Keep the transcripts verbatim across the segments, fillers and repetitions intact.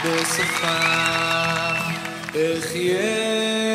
בסופה אחיה.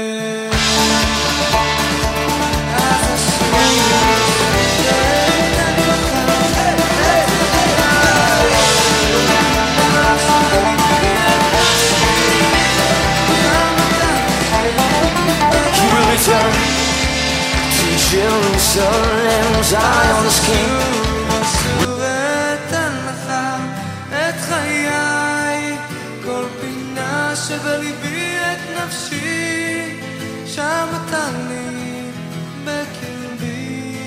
Jerusalem, Zion's King. אשוב אתן לך את חיי, כל פינה שבליבי את נפשי, שם אתה לי בקרבי,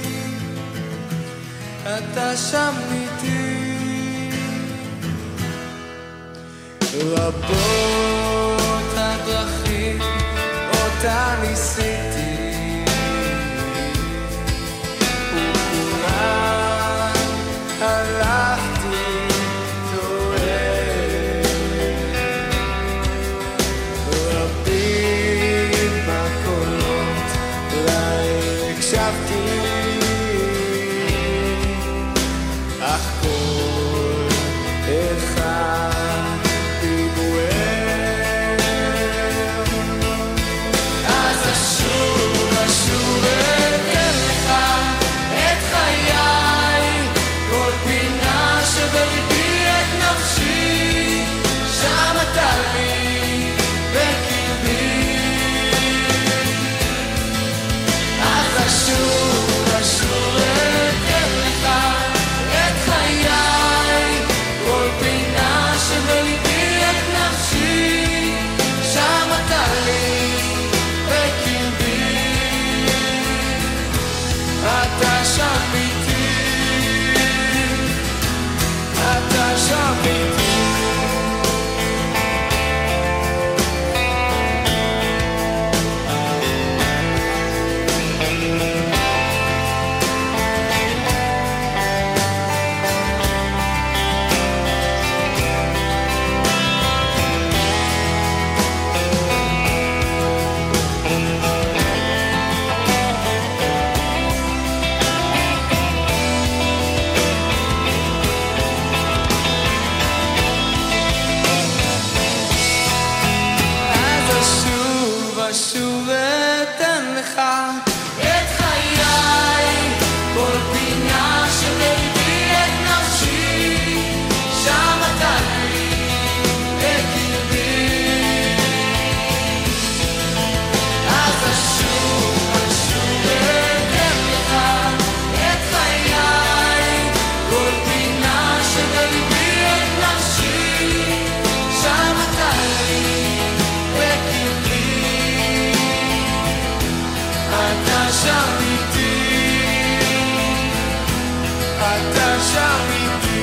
אתה שם איתי. רבות הדרכים אותה ניסיתי, הלכתי טועה, רבים בקולות אולי הקשבתי, אך כל אחד דיבורים. אז אשוב אשוב אתן לך את חיי, כל פינה שבליבי את נפשי, שם אתה לי בקרבי. אז אשוב אשוב אתן לך את חיי, כל פינה שבליבי את נפשי, שם אתה לי בקרבי, אתה שם איתי, אתה שם איתי. אשוב אתן לך את חיי, כל פינה שבליבי את נפשי, שם אתה לי בקרבי. אז אשוב אשוב אתן לך את חיי, כל פינה שבליבי את נפשי, שם אתה לי בקרבי, אתה שם איתי, אתה שם איתי.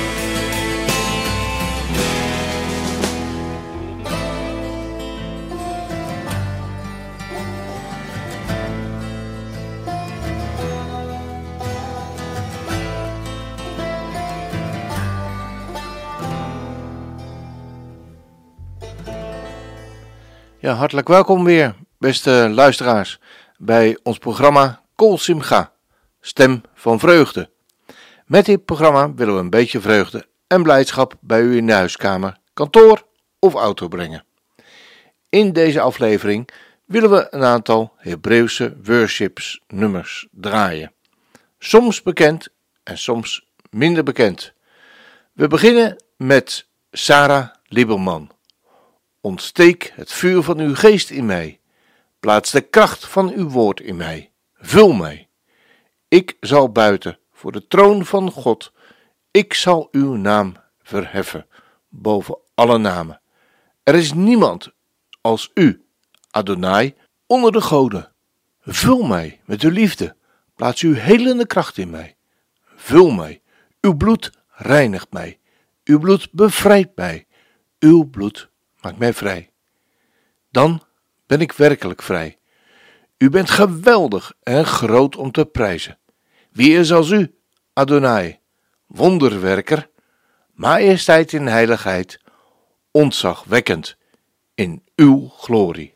Ja, hartelijk welkom weer, beste luisteraars, bij ons programma Kol Simcha, Stem van Vreugde. Met dit programma willen we een beetje vreugde en blijdschap bij u in de huiskamer, kantoor of auto brengen. In deze aflevering willen we een aantal Hebreeuwse worships nummers draaien. Soms bekend en soms minder bekend. We beginnen met Sarah Lieberman. Ontsteek het vuur van uw geest in mij. Plaats de kracht van uw woord in mij. Vul mij. Ik zal buiten voor de troon van God. Ik zal uw naam verheffen boven alle namen. Er is niemand als u, Adonai, onder de goden. Vul mij met uw liefde. Plaats uw helende kracht in mij. Vul mij. Uw bloed reinigt mij. Uw bloed bevrijdt mij. Uw bloed maakt mij vrij. Dan ben ik werkelijk vrij. U bent geweldig en groot om te prijzen. Wie is als u, Adonai, wonderwerker, majesteit in heiligheid, ontzagwekkend in uw glorie.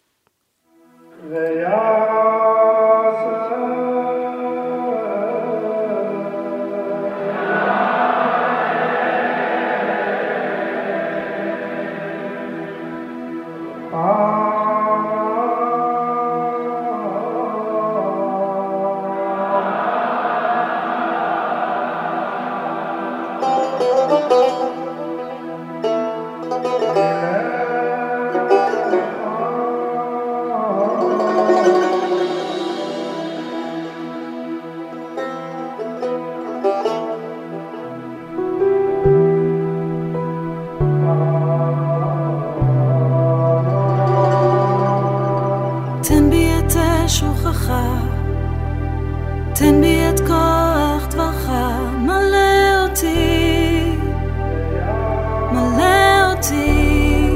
תן בי את אש הוכחה, תן בי את כוח דברך, מלא אותי, מלא אותי.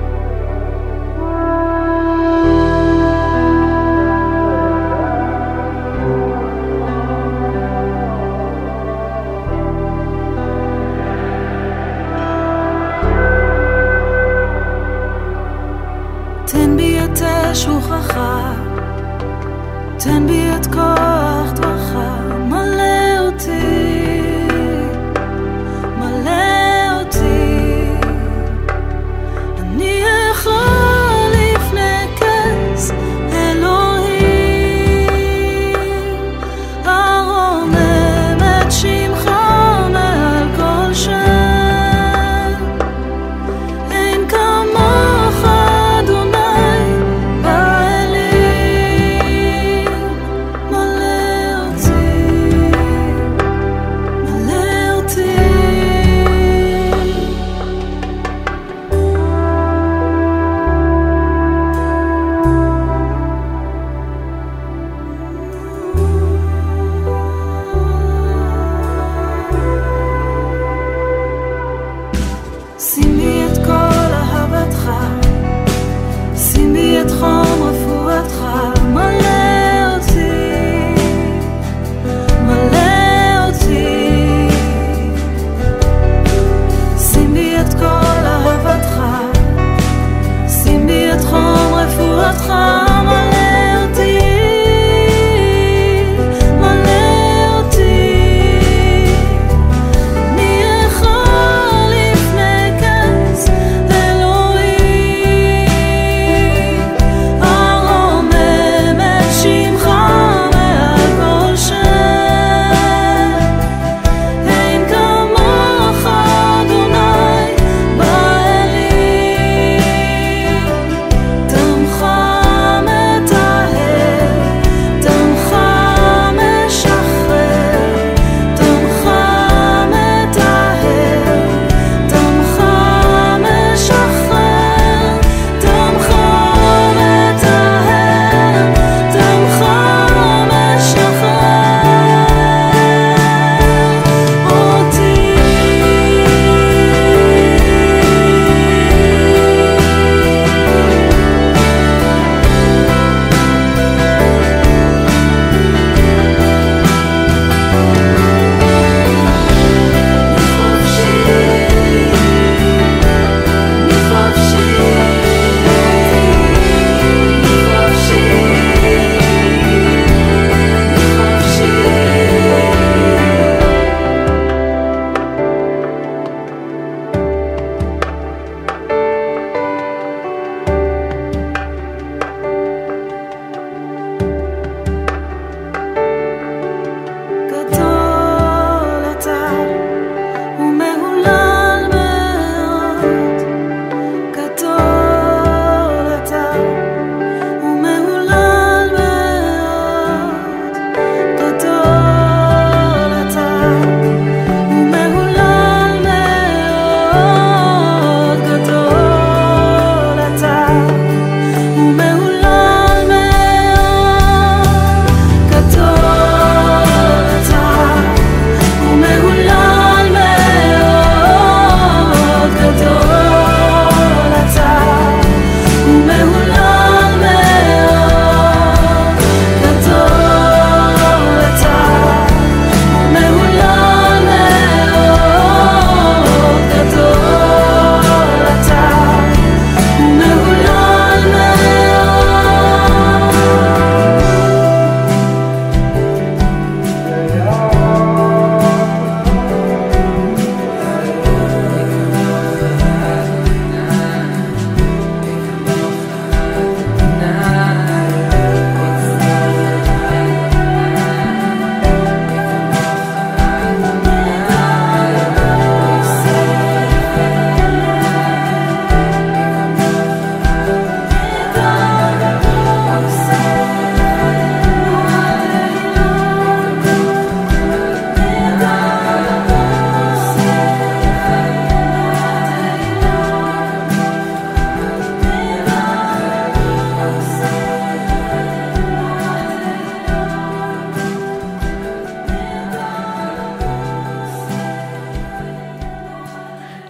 תן בי את אש הוכחה, תן בי את כוח דברך, מלא אותי, מלא אותי. אני אכלול לפני כס אלוהים, הרומם את שמך מעל כל שם. אין כמוך אדוני באלים,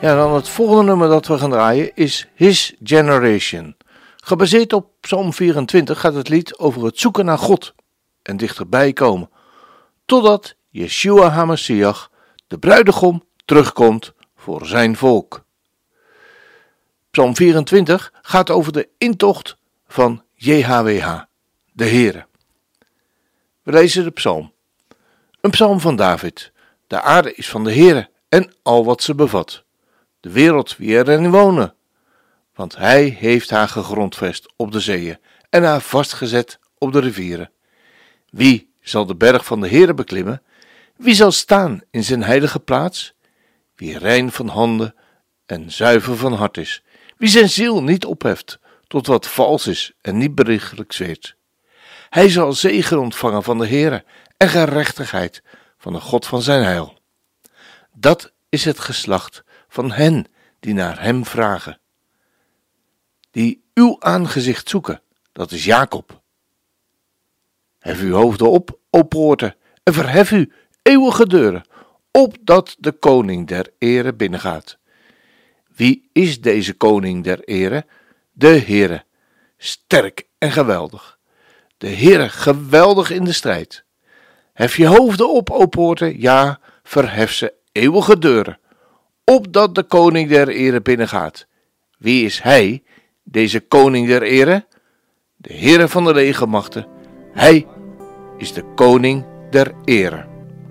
Ja, dan het volgende nummer dat we gaan draaien is His Generation. Gebaseerd op Psalm vierentwintig gaat het lied over het zoeken naar God en dichterbij komen, totdat Yeshua HaMashiach, de bruidegom, terugkomt voor zijn volk. Psalm vierentwintig gaat over de intocht van J H W H, de Heere. We lezen de psalm. Een psalm van David. De aarde is van de Heere en al wat ze bevat. De wereld wie erin wonen. Want hij heeft haar gegrondvest op de zeeën en haar vastgezet op de rivieren. Wie zal de berg van de Heere beklimmen? Wie zal staan in zijn heilige plaats? Wie rein van handen en zuiver van hart is. Wie zijn ziel niet opheft tot wat vals is en niet berichtelijk zweert. Hij zal zegen ontvangen van de Heere en gerechtigheid van de God van zijn heil. Dat is het geslacht van hen die naar hem vragen. Die uw aangezicht zoeken, dat is Jacob. Hef uw hoofden op, o poorten, en verhef u, eeuwige deuren, opdat de koning der ere binnengaat. Wie is deze koning der ere? De Heere, sterk en geweldig. De Heere, geweldig in de strijd. Hef je hoofden op, o poorten, ja, verhef ze, eeuwige deuren, opdat de koning der ere binnengaat. Wie is hij, deze koning der ere? De Heere van de legermachten, hij is de koning der ere.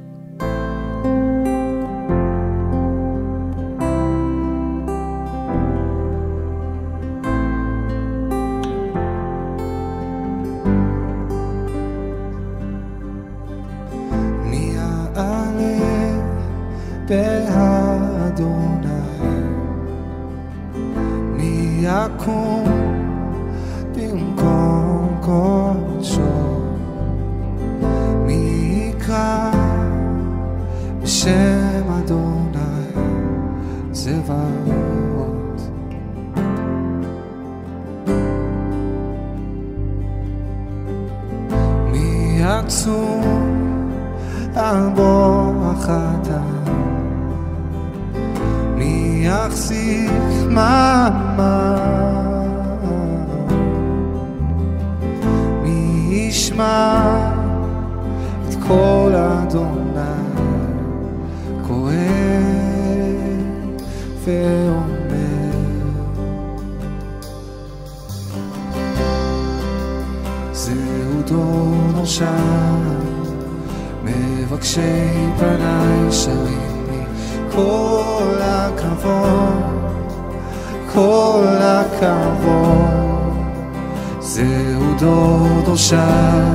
באדוני מי יקום במקום קודשו מי יקרא בשם אדוני צבאות מי יצום על בוא החטא מי יחזיק מעמד מי ישמע את קול אדוני קורא ואומר זהו דור נושע מבקשי פני שרים כל הכבוד, כל הכבוד זהו דור דורשי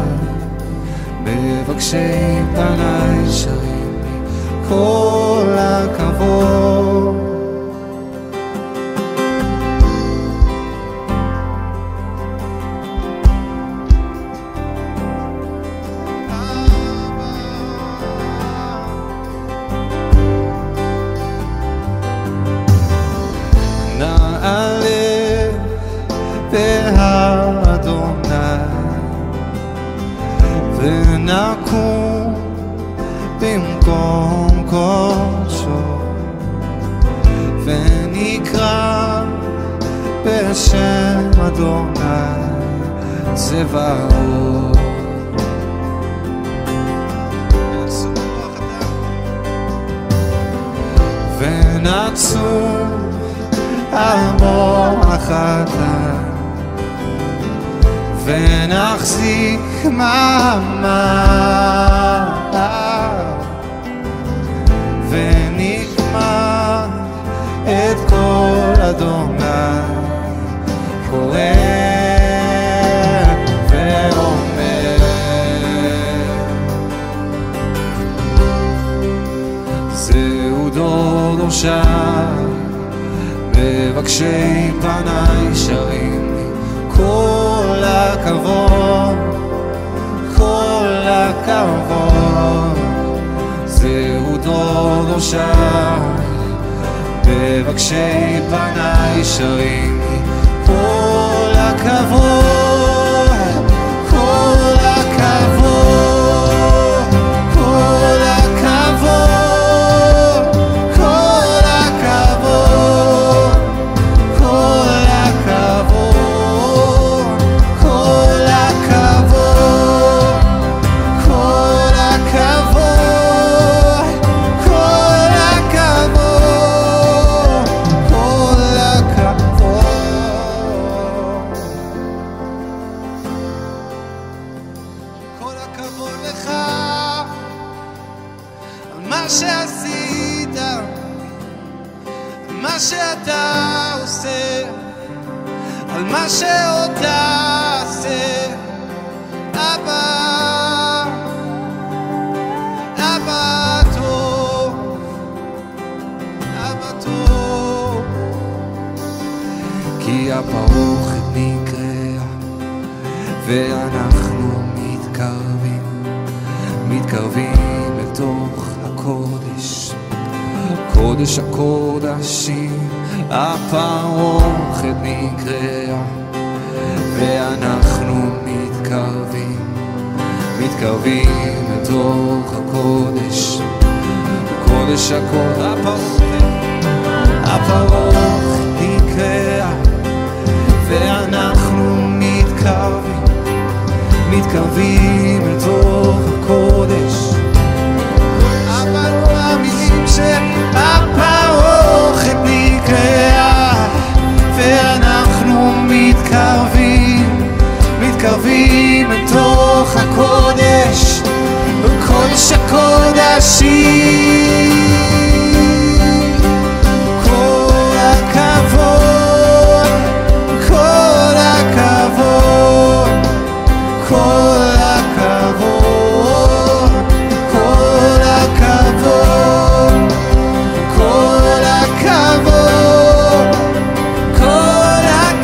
מבקשי פני שרים לי כל הכבוד ונקום במקום קודשו ונקרא בשם אדוני צבאות ונצום על מוח החטא ונחזיק מעמד ונשמע את קול אדוני קורא ואומר זהו דור דורשי מבקשי פני שרים לי כל הכבוד, כל הכבוד זהו דור דורשי מבקשי פני שרים לי כל הכבוד, כל הכבוד, כל הכבוד, כל הכבוד על מה שעוד תעשה. אבא, אבא טוב, אבא טוב, כי הפרוכת נקראה ואנחנו מתקרבים, מתקרבים לתוך הקודש, קודש הקודשים. הפרוכת נקראה ואנחנו מתקרבים, מתקרבים לתוך הקודש, קודש הקודש. הפרוכת נקראה ואנחנו מתקרבים, מתקרבים לתוך הקודש. אבל מאמינים שהפרוכת נקראה ואנחנו מתקרבים, מתקרבים לתוך הקודש, קודש הקודשים. כל הכבוד, כל הכבוד, כל הכבוד, כל הכבוד, כל הכבוד, כל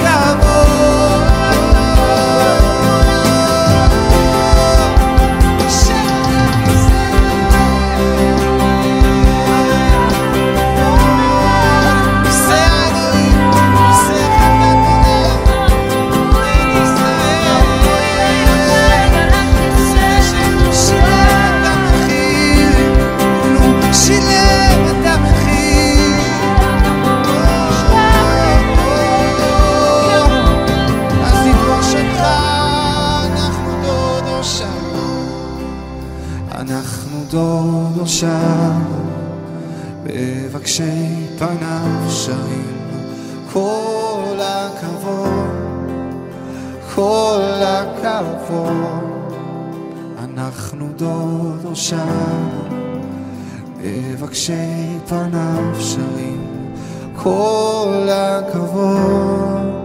דודו שם, מבקשי פניו שרים. כל הכבוד, כל הכבוד, אנחנו דודו שם, מבקשי פניו שרים. כל הכבוד.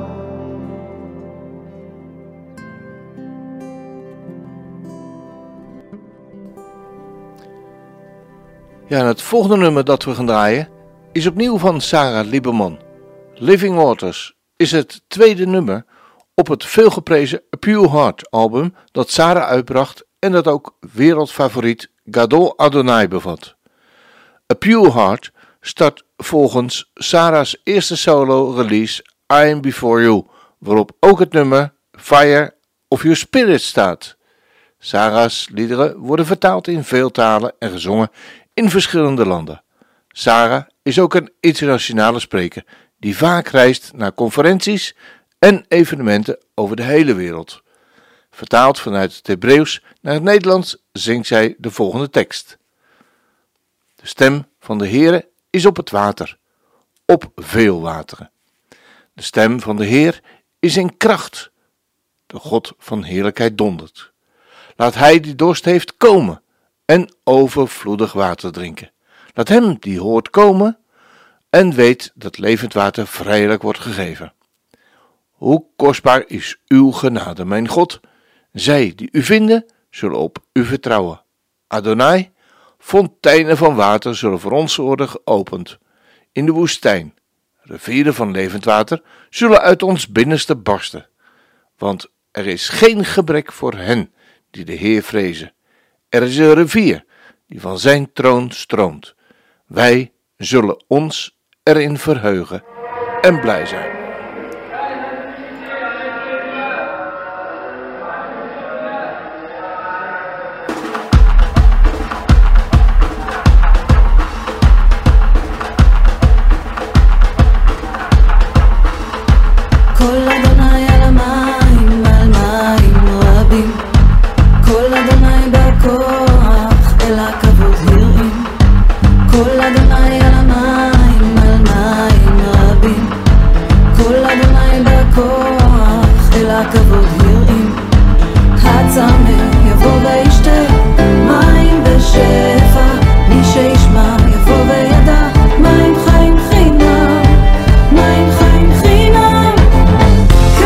Ja, en het volgende nummer dat we gaan draaien is opnieuw van Sarah Lieberman. Living Waters is het tweede nummer op het veelgeprezen A Pure Heart album dat Sarah uitbracht en dat ook wereldfavoriet Gadol Adonai bevat. A Pure Heart start volgens Sarah's eerste solo release I Am Before You, waarop ook het nummer Fire of Your Spirit staat. Sarah's liederen worden vertaald in veel talen en gezongen in verschillende landen. Sarah is ook een internationale spreker die vaak reist naar conferenties en evenementen over de hele wereld. Vertaald vanuit het Hebreeuws naar het Nederlands zingt zij de volgende tekst. De stem van de Heere is op het water, op veel wateren. De stem van de Heer is in kracht. De God van heerlijkheid dondert. Laat hij die dorst heeft komen en overvloedig water drinken. Laat hem die hoort komen en weet dat levend water vrijelijk wordt gegeven. Hoe kostbaar is uw genade, mijn God. Zij die u vinden, zullen op u vertrouwen. Adonai, fonteinen van water zullen voor ons worden geopend. In de woestijn, rivieren van levend water, zullen uit ons binnenste barsten. Want er is geen gebrek voor hen die de Heer vrezen. Er is een rivier die van zijn troon stroomt. Wij zullen ons erin verheugen en blij zijn. King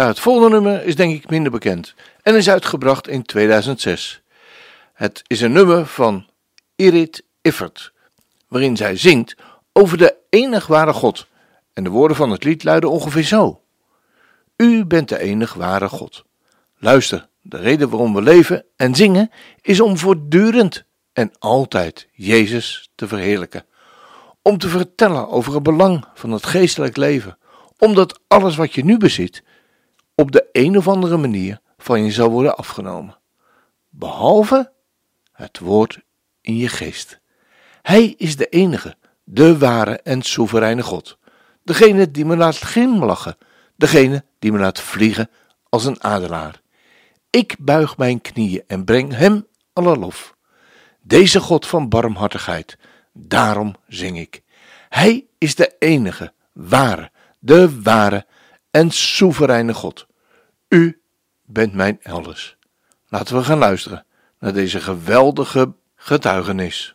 Ja, het volgende nummer is denk ik minder bekend en is uitgebracht in tweeduizend zes. Het is een nummer van Irit Iffert, waarin zij zingt over de enig ware God. En de woorden van het lied luiden ongeveer zo. U bent de enig ware God. Luister, de reden waarom we leven en zingen is om voortdurend en altijd Jezus te verheerlijken. Om te vertellen over het belang van het geestelijk leven. Omdat alles wat je nu bezit op de een of andere manier van je zal worden afgenomen. Behalve het woord in je geest. Hij is de enige, de ware en soevereine God. Degene die me laat glimlachen. Degene die me laat vliegen als een adelaar. Ik buig mijn knieën en breng hem alle lof. Deze God van barmhartigheid, daarom zing ik. Hij is de enige, ware, de ware en soevereine God. U bent mijn elders. Laten we gaan luisteren naar deze geweldige getuigenis.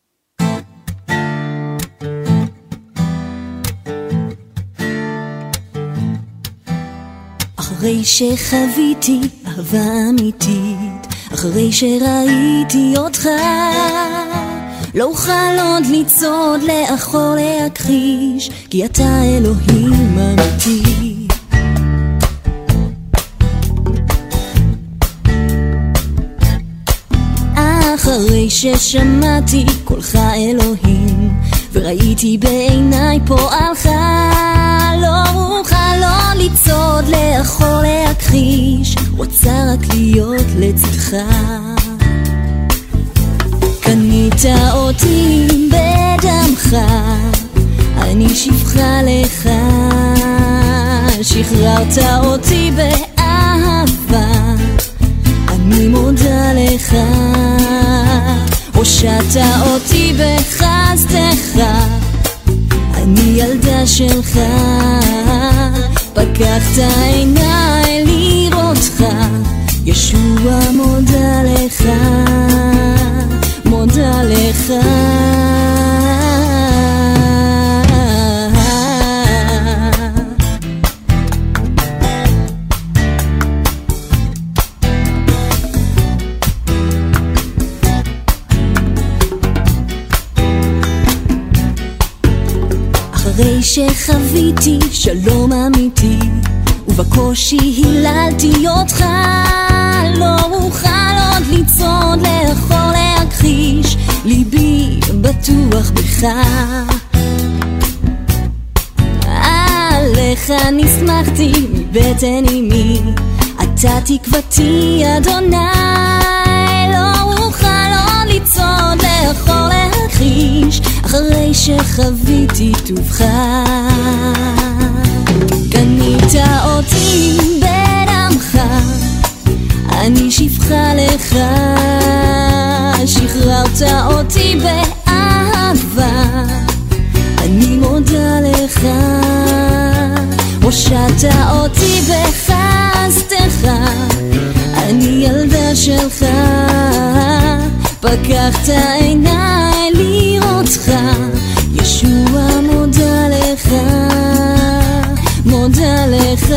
אחרי שחוויתי אהבה אמיתית, אחרי שראיתי אותך, לא אוכל עוד לצעוד לאחור להכחיש, כי אתה אלוהים אמיתי. אחרי ששמעתי קולך אלוהים, וראיתי בעיניי פועלך, לא אוכל עוד לצעוד לאחור להכחיש, רוצה רק להיות לצדך. קנית אותי בדמך, אני שפחה לך, שחררת אותי באהבה, אני מודה לך. הושעת אותי בחסדך, אני ילדה שלך, פקחת עיניי לראותך, ישוע מודה לך, מודה לך. אחרי שחוויתי שלום אמיתי, ובקושי היללתי אותך, לא אוכל עוד לצעוד לאחור להכחיש, ליבי בטוח בך. עליך נסמכתי מבטן אמי, אתה תקוותי אדוני, לא אוכל עוד לצעוד לאחור להכחיש, אחרי שחוויתי טובך. קנית אותי בדמך, אני שפחה לך, שחררת אותי באהבה, אני מודה לך. הושעת אותי בחסדך, אני ילדה שלך, פקחת עיניי לראותך, ישוע מודה לך, מודה לך.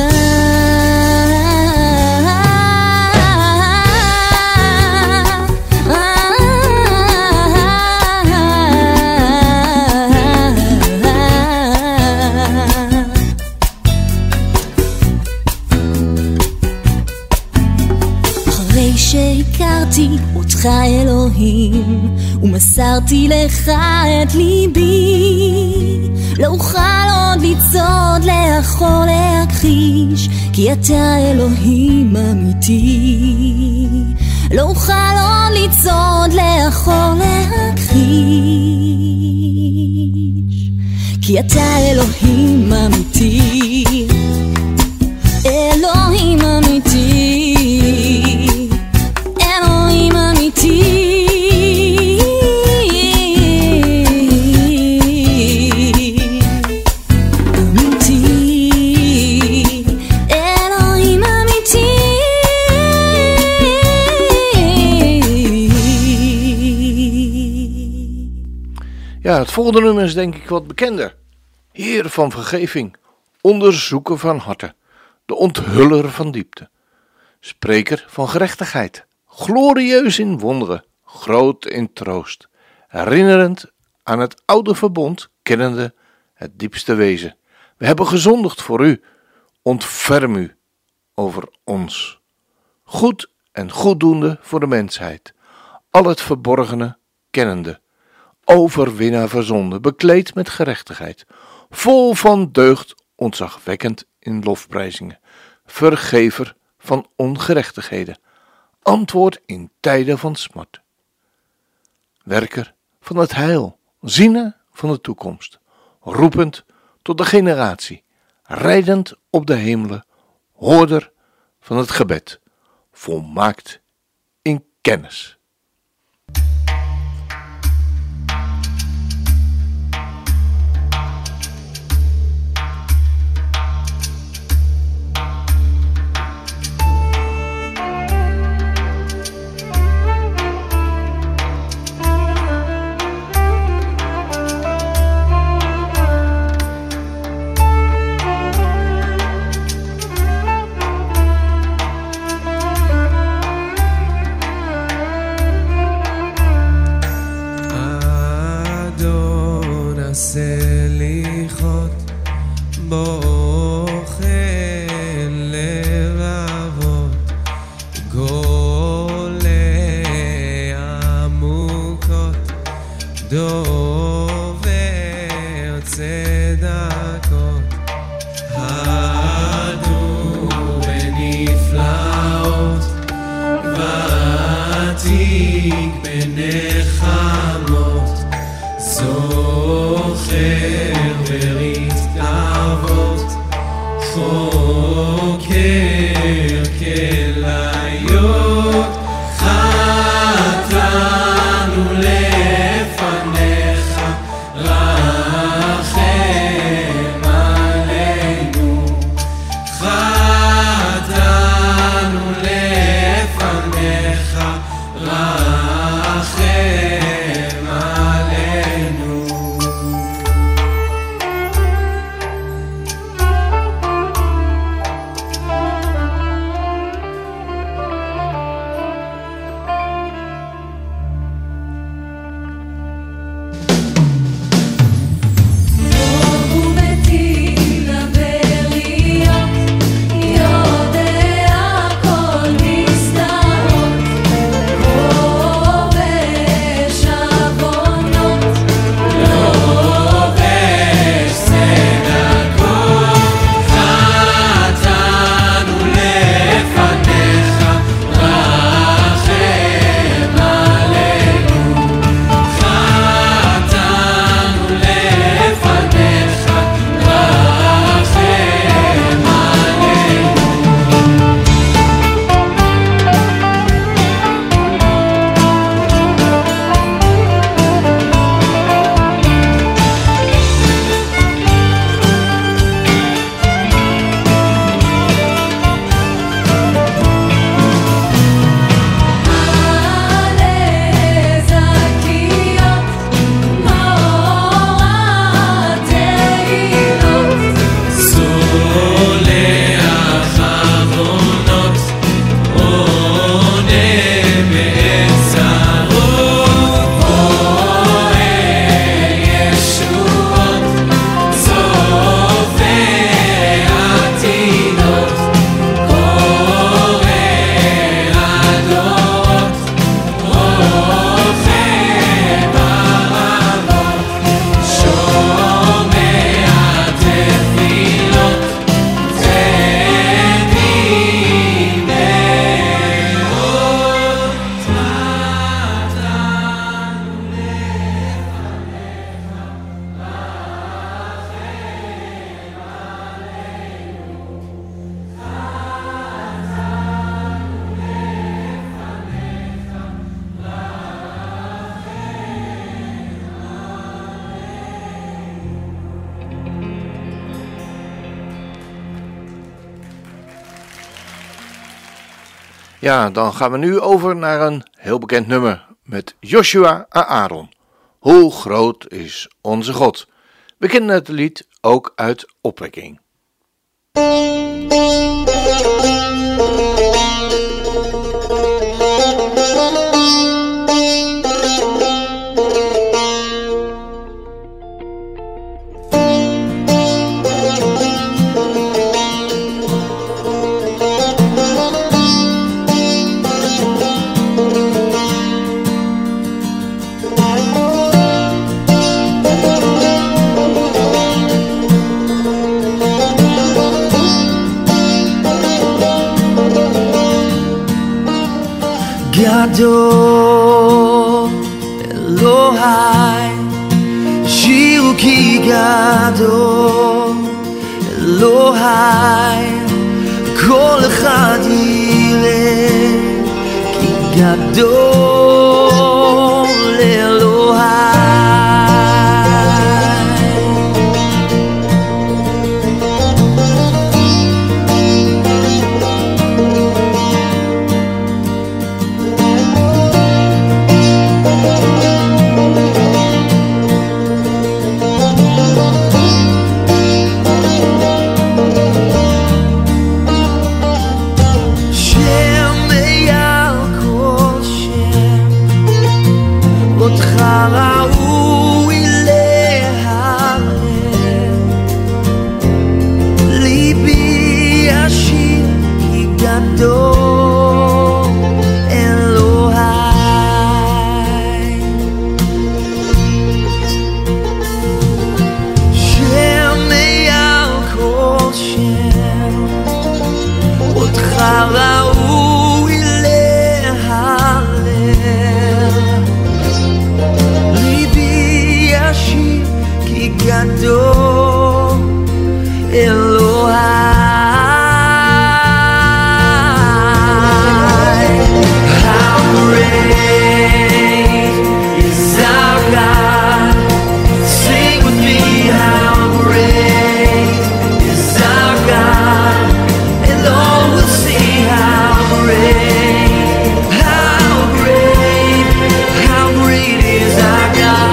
אחרי שהכרתי אותך אלוהים, ומסרתי לך את ליבי, לא אוכל עוד לצעוד לאחור להכחיש, כי אתה אלוהים אמיתי. לא אוכל עוד לצעוד לאחור להכחיש, כי אתה אלוהים אמיתי, אלוהים אמיתי, אלוהים אמיתי. Ja, het volgende nummer is denk ik wat bekender. Heer van vergeving, onderzoeker van harten, de onthuller van diepte, spreker van gerechtigheid, glorieus in wonderen, groot in troost, herinnerend aan het oude verbond, kennende het diepste wezen. We hebben gezondigd voor u, ontferm u over ons. Goed en goeddoende voor de mensheid, al het verborgene kennende, overwinnaar van zonde, bekleed met gerechtigheid, vol van deugd, ontzagwekkend in lofprijzingen, vergever van ongerechtigheden, antwoord in tijden van smart, werker van het heil, ziener van de toekomst, roepend tot de generatie, rijdend op de hemelen, hoorder van het gebed, volmaakt in kennis. סליחות בוחן לבבות גולה עמוקות דובר צדקות הדו בנפלאות ותיק בנחמות זוכר ברית אבות חוקר כליות חטאנו לפניך רחם עלינו חטאנו לפניך רחם עלינו Ja, dan gaan we nu over naar een heel bekend nummer met Joshua en Aaron. Hoe groot is onze God? We kennen het lied ook uit Opwekking. גדול אלוהי, שירו כי גדול אלוהי, כל אחד יראה כי גדול אלוהי. ראוי להלל, ליבי ישיר כי גדול אלוהי. שם מעל כל שם, אותך ראוי להלל, גדול אלוהי. How great is our God? Sing with me, how great is our God, and all will see how great, how great, how great is our God.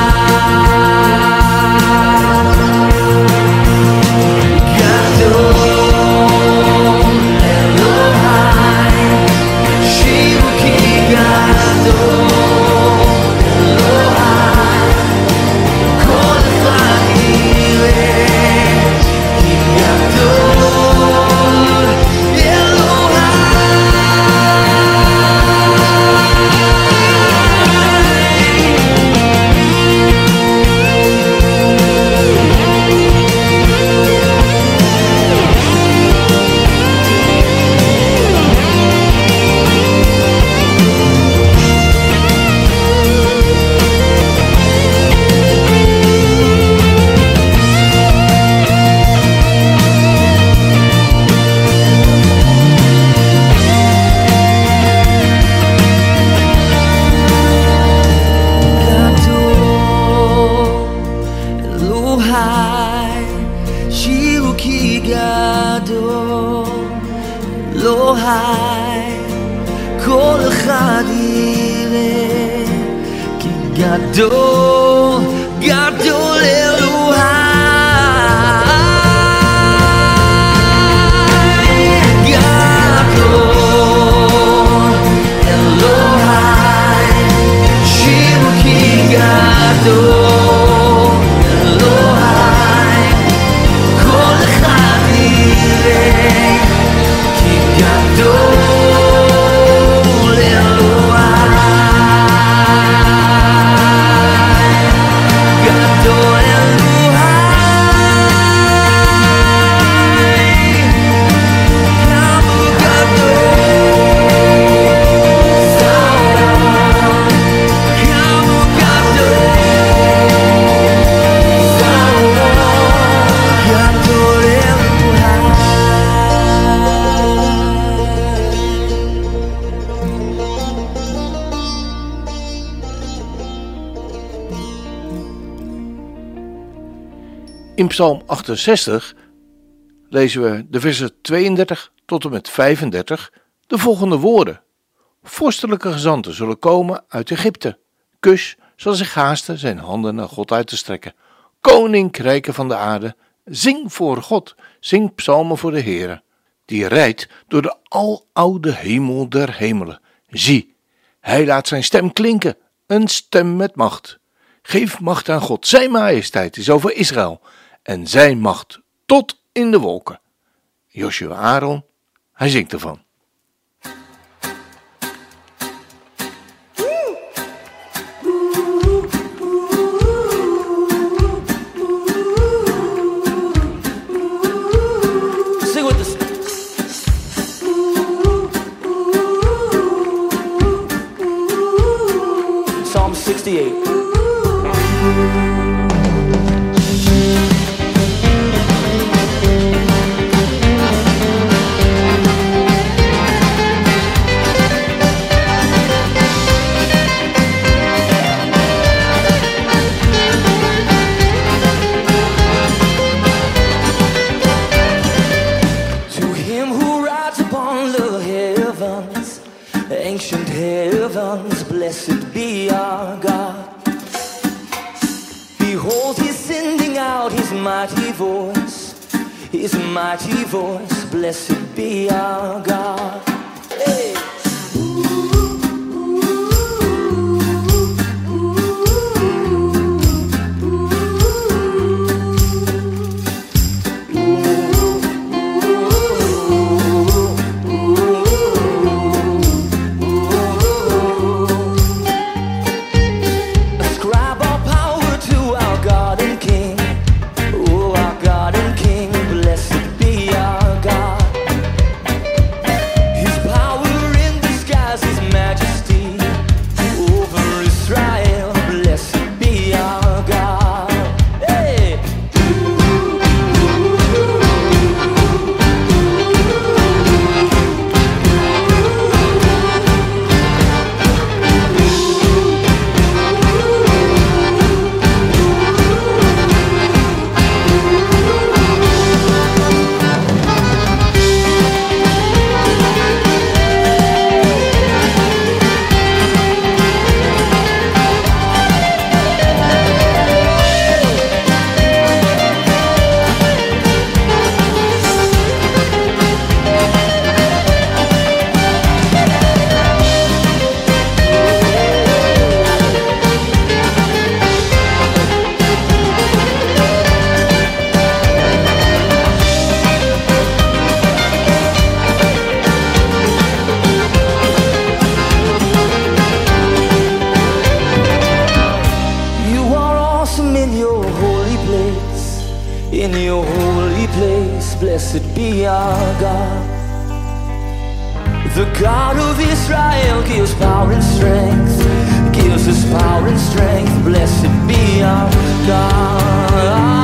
כל אחד יראה כי גדול, גדול אלוהי. גדול אלוהי, שירו כי גדול אלוהי, כל אחד יראה כי גדול In Psalm achtenzestig lezen we de versen tweeëndertig tot en met vijfendertig de volgende woorden. Vorstelijke gezanten zullen komen uit Egypte. Kus zal zich haasten zijn handen naar God uit te strekken. Koninkrijken van de aarde Zing voor God, zing psalmen voor de Heere, die rijdt door de aloude hemel der hemelen. Zie, hij laat zijn stem klinken, een stem met macht. Geef macht aan God, zijn majesteit is over Israël en zijn macht tot in de wolken. Joshua Aaron, hij zingt ervan. Sing with us. Psalm sixty-eight. Ancient heavens, blessed be our God. Behold, he's sending out his mighty voice, his mighty voice, blessed be our God. Hey! Blessed be our God. The God of Israel gives power and strength, gives us power and strength. Blessed be our God.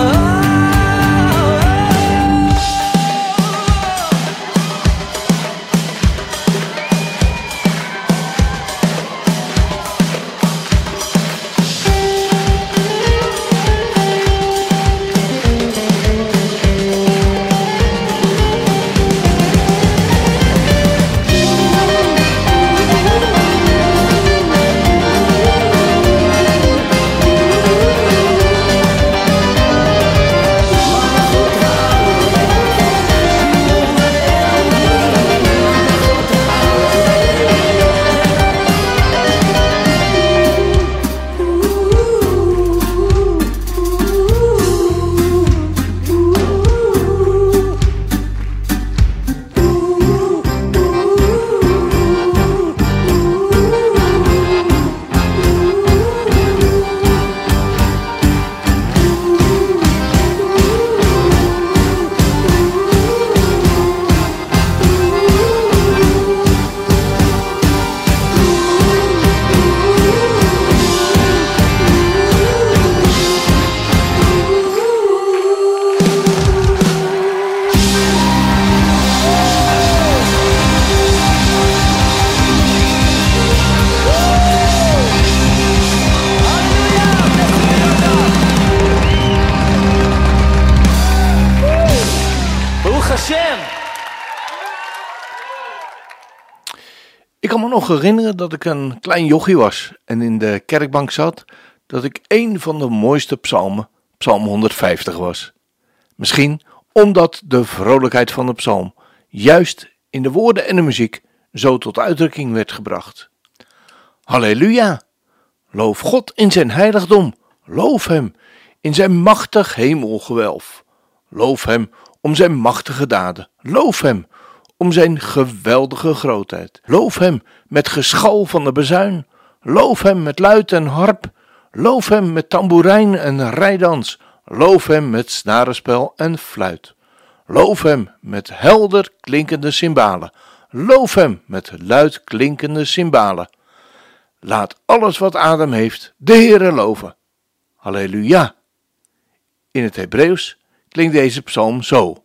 Ik kan me nog herinneren dat ik een klein jochie was en in de kerkbank zat, dat ik één van de mooiste psalmen, psalm honderdvijftig was. Misschien omdat de vrolijkheid van de psalm juist in de woorden en de muziek zo tot uitdrukking werd gebracht. Halleluja! Loof God in zijn heiligdom, loof hem in zijn machtig hemelgewelf. Loof hem om zijn machtige daden, loof hem om zijn geweldige grootheid. Loof hem met geschal van de bazuin, loof hem met luit en harp, loof hem met tamboerijn en rijdans, loof hem met snarenspel en fluit. Loof hem met helder klinkende cymbalen, loof hem met luid klinkende cymbalen. Laat alles wat adem heeft de Heere loven. Halleluja! In het Hebreeuws klinkt deze psalm zo.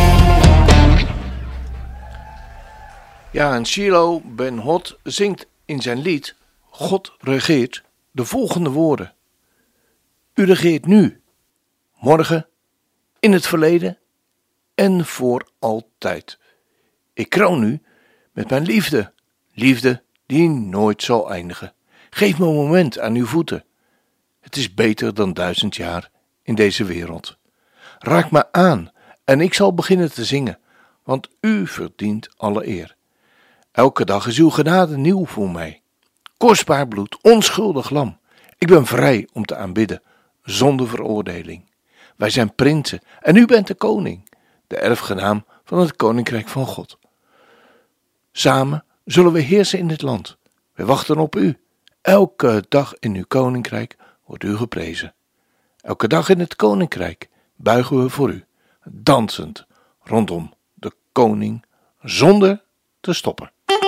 Ja, en Shiloh Ben Hot zingt in zijn lied God regeert de volgende woorden. U regeert nu, morgen, in het verleden en voor altijd. Ik kroon u met mijn liefde, liefde die nooit zal eindigen. Geef me een moment aan uw voeten. Het is beter dan duizend jaar in deze wereld. Raak me aan en ik zal beginnen te zingen, want u verdient alle eer. Elke dag is uw genade nieuw voor mij. Kostbaar bloed, onschuldig lam. Ik ben vrij om te aanbidden, zonder veroordeling. Wij zijn prinsen en u bent de koning, de erfgenaam van het koninkrijk van God. Samen zullen we heersen in dit land. We wachten op u. Elke dag in uw koninkrijk wordt u geprezen. Elke dag in het koninkrijk buigen we voor u, dansend rondom de koning, zonder te stoppen.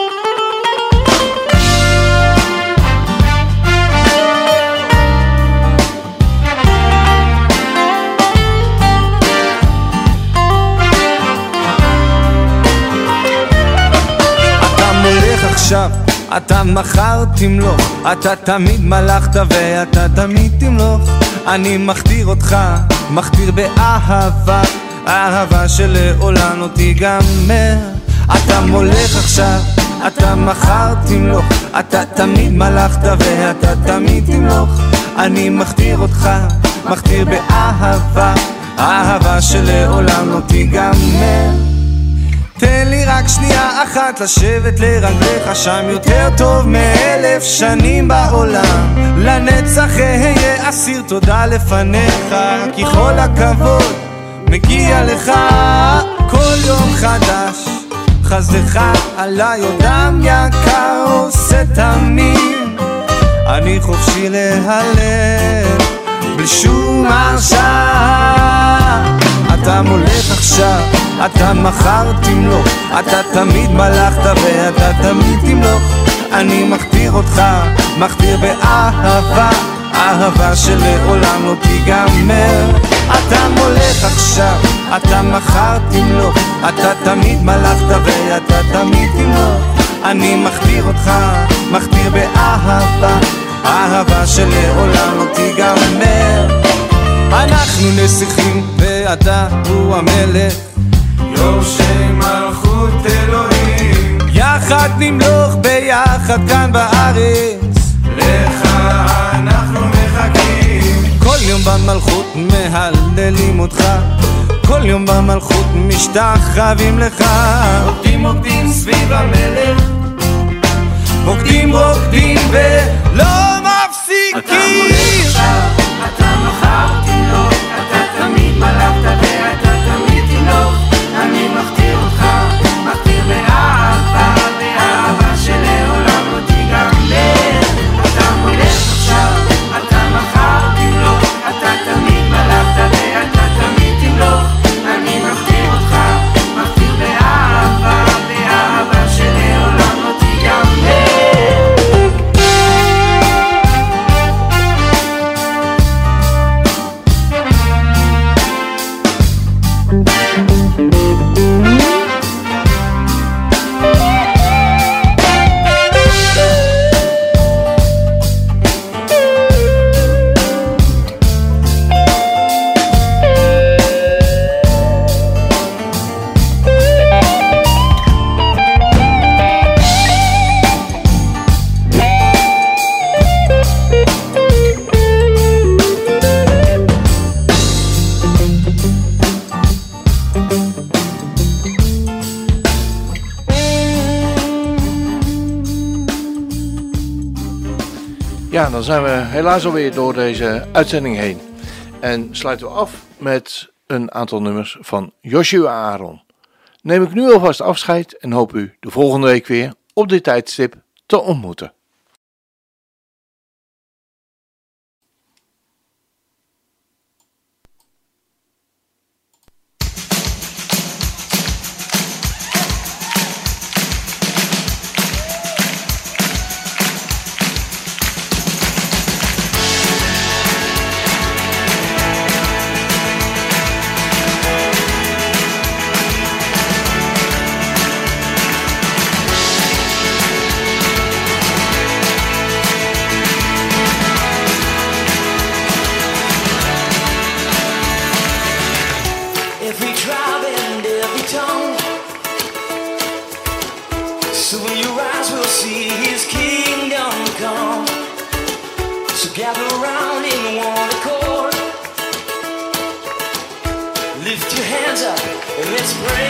עכשיו, אתה מחר תמלוך, אתה תמיד מלכת ואתה תמיד תמלוך. אני מכתיר אותך, מכתיר באהבה, אהבה שלעולם לא תיגמר. אתה מולך עכשיו, אתה מחר תמלוך, אתה תמיד מלכת ואתה תמיד תמלוך. אני מכתיר אותך, מכתיר באהבה, אהבה שלעולם לא תיגמר. תן לי רק שנייה אחת לשבת לרגליך, שם יותר טוב מאלף שנים בעולם. לנצח אהיה אסיר תודה לפניך, כי כל הכבוד מגיע לך. כל יום חדש חסדך עליי עוד דם יקר עושה תמים. אני חופשי להלל בלי שום הרשעה. אתה מולך עכשיו, אתה מחר תמלוך, אתה תמיד מלכת ואתה תמיד תמלוך. אני מכתיר אותך, מכתיר באהבה, אהבה שלעולם לא תיגמר. אתה מולך עכשיו, אתה מחר תמלוך, אתה תמיד מלכת ואתה תמיד תמלוך. אני מכתיר אותך, מכתיר באהבה, אהבה שלעולם לא תיגמר. אנחנו נסיכים ואתה הוא המלך, יורשי מלכות אלוהים. יחד נמלוך ביחד כאן בארץ, לך אנחנו מחכים. כל יום במלכות מהללים אותך, כל יום במלכות משתחווים לך. רוקדים רוקדים סביב המלך, רוקדים רוקדים ולא מפסיקים. אתה מולך עכשיו, אתה מחר תמלוך, אתה תמיד מלכת ואתה תמיד תמלוך. אני מכתיר אותך, מכתיר באהבה, באהבה שלעולם לא תיגמר. אתה מולך עכשיו, אתה מחר תמלוך, אתה תמיד מלכת ואתה תמיד תמלוך. אני מכתיר אותך, מכתיר באהבה, באהבה שלעולם לא תיגמר. Ja, dan zijn we helaas alweer door deze uitzending heen. En sluiten we af met een aantal nummers van Joshua Aaron. Neem ik nu alvast afscheid en hoop u de volgende week weer op dit tijdstip te ontmoeten. tribe and every tongue. Soon your eyes will see his kingdom come. So gather around in one accord. Lift your hands up and let's pray.